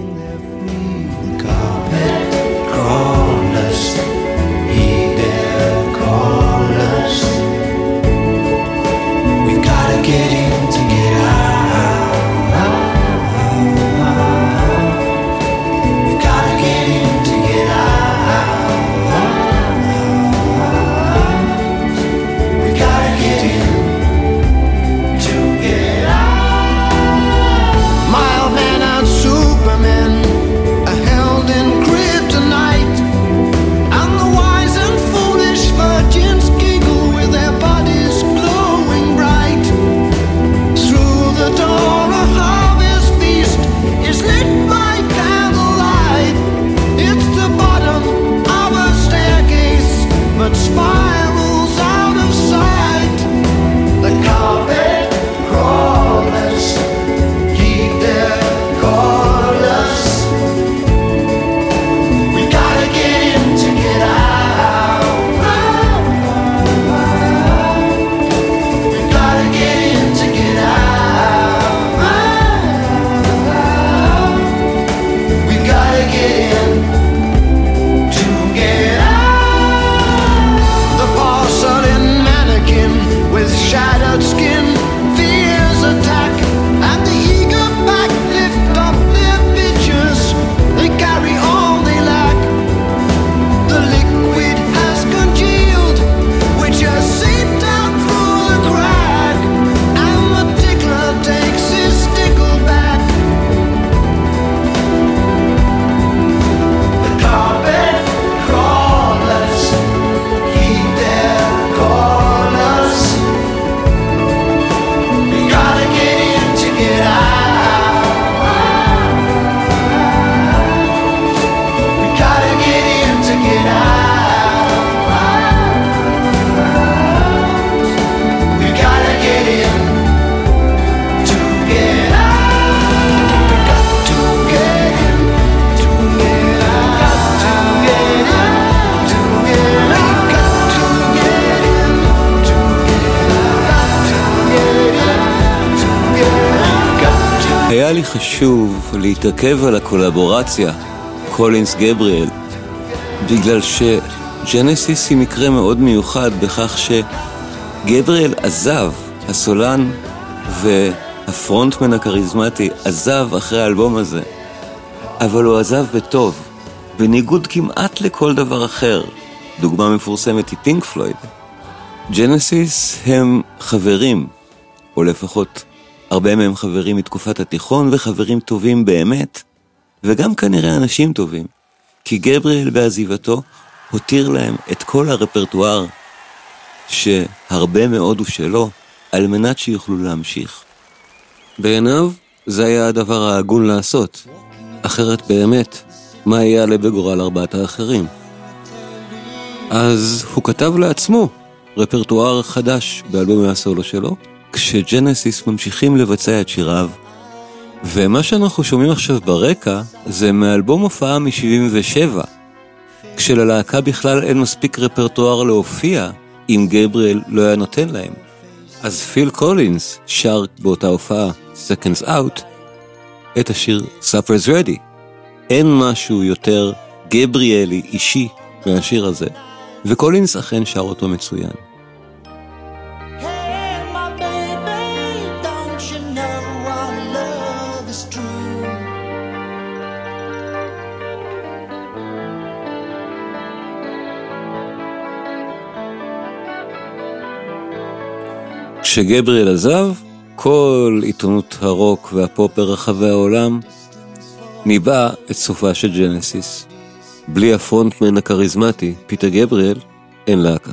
היה לי חשוב להתעכב על הקולבורציה קולינס גבריאל, בגלל שג'נסיס היא מקרה מאוד מיוחד בכך שגבריאל עזב, הסולן הפרונטמן הכריזמטי, עזב אחרי האלבום הזה, אבל הוא עזב בטוב, בניגוד כמעט לכל דבר אחר. דוגמה מפורסמת היא פינק פלויד. ג'נסיס הם חברים, או לפחות הרבה מהם חברים מתקופת התיכון, וחברים טובים באמת, וגם כנראה אנשים טובים, כי גבריאל בעזיבתו הותיר להם את כל הרפרטואר שהרבה מאוד הוא שלו, על מנת שיוכלו להמשיך. בעיניו זה היה הדבר ההגון לעשות, אחרת באמת, מה יעלה בגורל ארבעת האחרים? אז הוא כתב לעצמו רפרטואר חדש באלבומי הסולו שלו, כשג'נסיס ממשיכים לבצע את שיריו, ומה שאנחנו שומעים עכשיו ברקע זה מאלבום הופעה מ-77, כשללהקה בכלל אין מספיק רפרטואר להופיע אם גבריאל לא היה נותן להם. אז פיל קולינס שר באותה הופעה Seconds Out את השיר Supper's Ready. אין משהו יותר גבריאלי אישי מהשיר הזה, וקולינס אכן שר אותו מצוין. כשגבריאל עזב, כל עיתונות הרוק והפופ ברחבי העולם ניבא את סופה של ג'נסיס. בלי הפרונטמן הכריזמטי, פיטר גבריאל, אין להקה.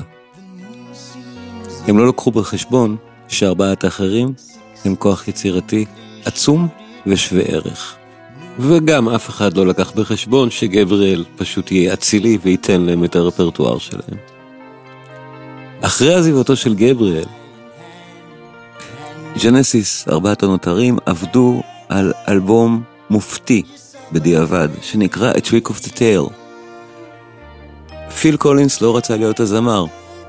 הם לא לקחו בחשבון שארבעת האחרים הם כוח יצירתי עצום ושווה ערך. וגם אף אחד לא לקח בחשבון שגבריאל פשוט יהיה אצילי וייתן להם את הרפרטואר שלהם. אחרי עזיבתו של גבריאל, ג'נסיס, ארבעת הנותרים, עבדו על אלבום מופתי בדיעבד, שנקרא A Trick of the Tail. פיל קולינס לא רצה להיות הזמר.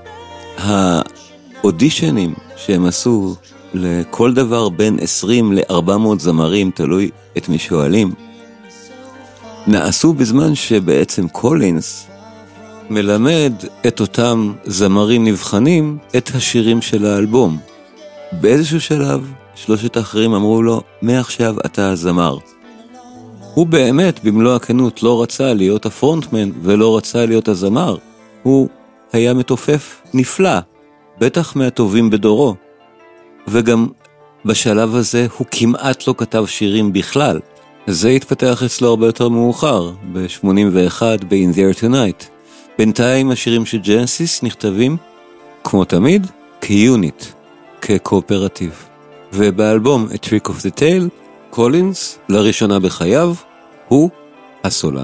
האודישנים שהם עשו לכל דבר בין 20 ל-400 זמרים, תלוי את מי שואלים, נעשו בזמן שבעצם קולינס מלמד את אותם זמרים נבחנים את השירים של האלבום. באיזשהו שלב, שלושת האחרים אמרו לו, מעכשיו אתה הזמר. הוא באמת, במלוא הכנות, לא רצה להיות הפרונטמן ולא רצה להיות הזמר. הוא היה מתופף נפלא, בטח מהטובים בדורו. וגם בשלב הזה הוא כמעט לא כתב שירים בכלל. זה התפתח אצלו הרבה יותר מאוחר, ב-81, ב-In There Tonight. בינתיים השירים של ג'נסיס נכתבים, כמו תמיד, כיוניט. כקואופרטיב. ובאלבום A Trick of the Tail, קולינס, לראשונה בחייו, הוא הסולן.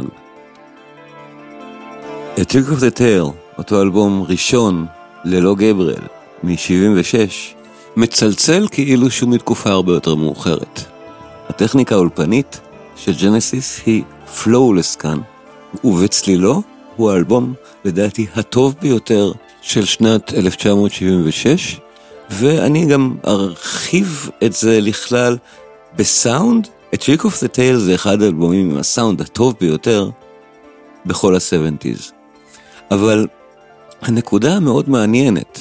A Trick of the Tail, אותו אלבום ראשון ללא גבריאל, מ-76, מצלצל כאילו שהוא מתקופה הרבה יותר מאוחרת. הטכניקה האולפנית של ג'נסיס היא פלואולס כאן, ובצלילו הוא האלבום, לדעתי, הטוב ביותר של שנת 1976, ואני גם ארחיב את זה לכלל בסאונד. A Trick of the Tail זה אחד האלבומים עם הסאונד הטוב ביותר בכל ה-70s. אבל הנקודה המאוד מעניינת,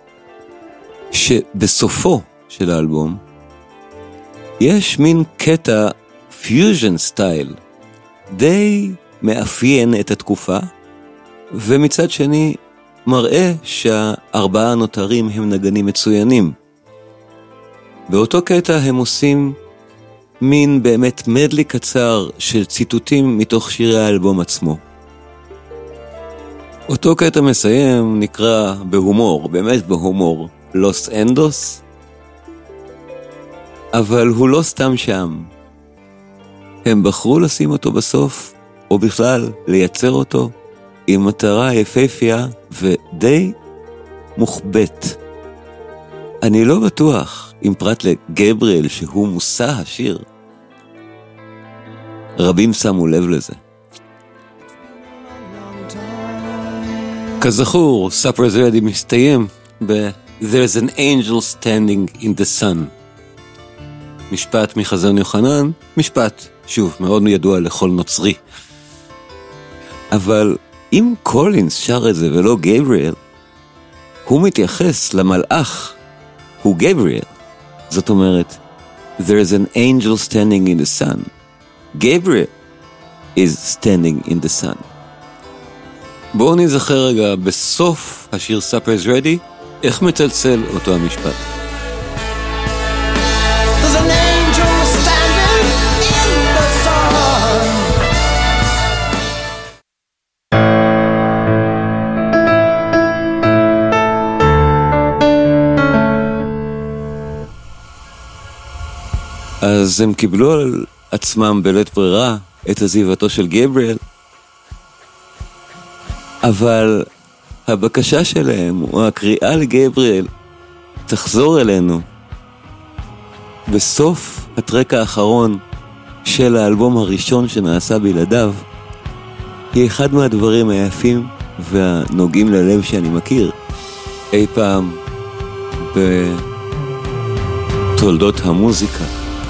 שבסופו של האלבום יש מין קטע פיוז'ן סטייל די מאפיין את התקופה, ומצד שני מראה שהארבעה הנותרים הם נגנים מצוינים. באותו קטע הם עושים מין באמת מדלי קצר של ציטוטים מתוך שירי האלבום עצמו. אותו קטע מסיים נקרא בהומור, באמת בהומור, לוס אנדוס, אבל הוא לא סתם שם. הם בחרו לשים אותו בסוף, או בכלל לייצר אותו, עם מטרה יפהפייה ודי מוחבט. אני לא בטוח, אם פרט לגבריאל שהוא מושא השיר, רבים שמו לב לזה. כזכור, Supper's Ready מסתיים ב-There's an angel standing in the sun. משפט מחזון יוחנן, משפט, שוב, מאוד ידוע לכל נוצרי. אבל אם קולינס שר את זה ולא גבריאל, הוא מתייחס למלאך, הוא גבריאל. זאת אומרת, There's an angel standing in the sun. Gabriel is standing in the sun. בואו נזכר רגע בסוף השיר Supper is Ready, איך מצלצל אותו המשפט. There's an angel standing in the sun. אז הם קיבלו על עצמם בלית ברירה את עזיבתו של גבריאל, אבל הבקשה שלהם, או הקריאה לגבריאל, תחזור אלינו. בסוף הטרק האחרון של האלבום הראשון שנעשה בלעדיו, היא אחד מהדברים היפים והנוגעים ללב שאני מכיר אי פעם בתולדות המוזיקה.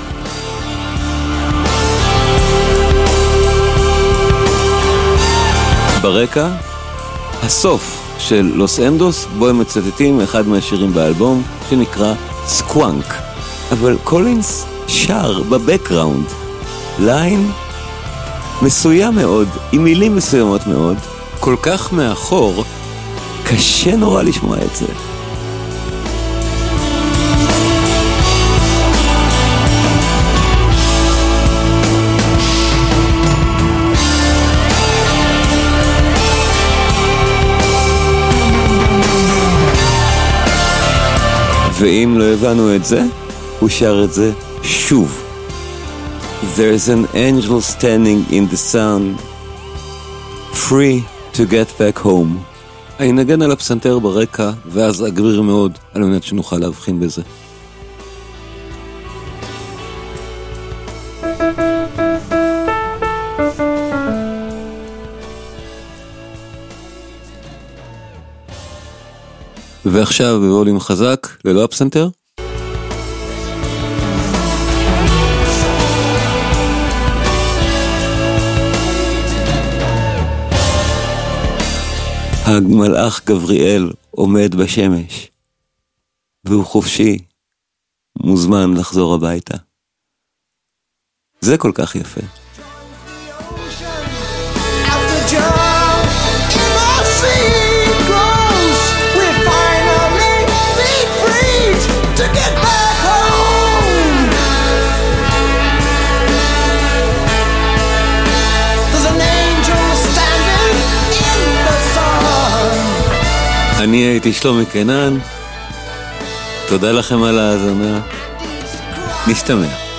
ברקע, הסוף של לוס אנדוס, בו הם מצטטים אחד מהשירים באלבום שנקרא סקוואנק. אבל קולינס שר בבקראונד ליין מסוים מאוד, עם מילים מסוימות מאוד, כל כך מאחור, קשה נורא לשמוע את זה. ואם לא הבנו את זה, הוא שר את זה שוב. There's an angel standing in the sun, free to get back home. אני נגן על הפסנתר ברקע, ואז אגריר מאוד על מנת שנוכל להבחין בזה. ועכשיו בווליום חזק, ללא הפסנתר. המלאך גבריאל עומד בשמש, והוא חופשי, מוזמן לחזור הביתה. זה כל כך יפה. אני הייתי שלומי קנן, תודה לכם על ההאזנה, נשתמע.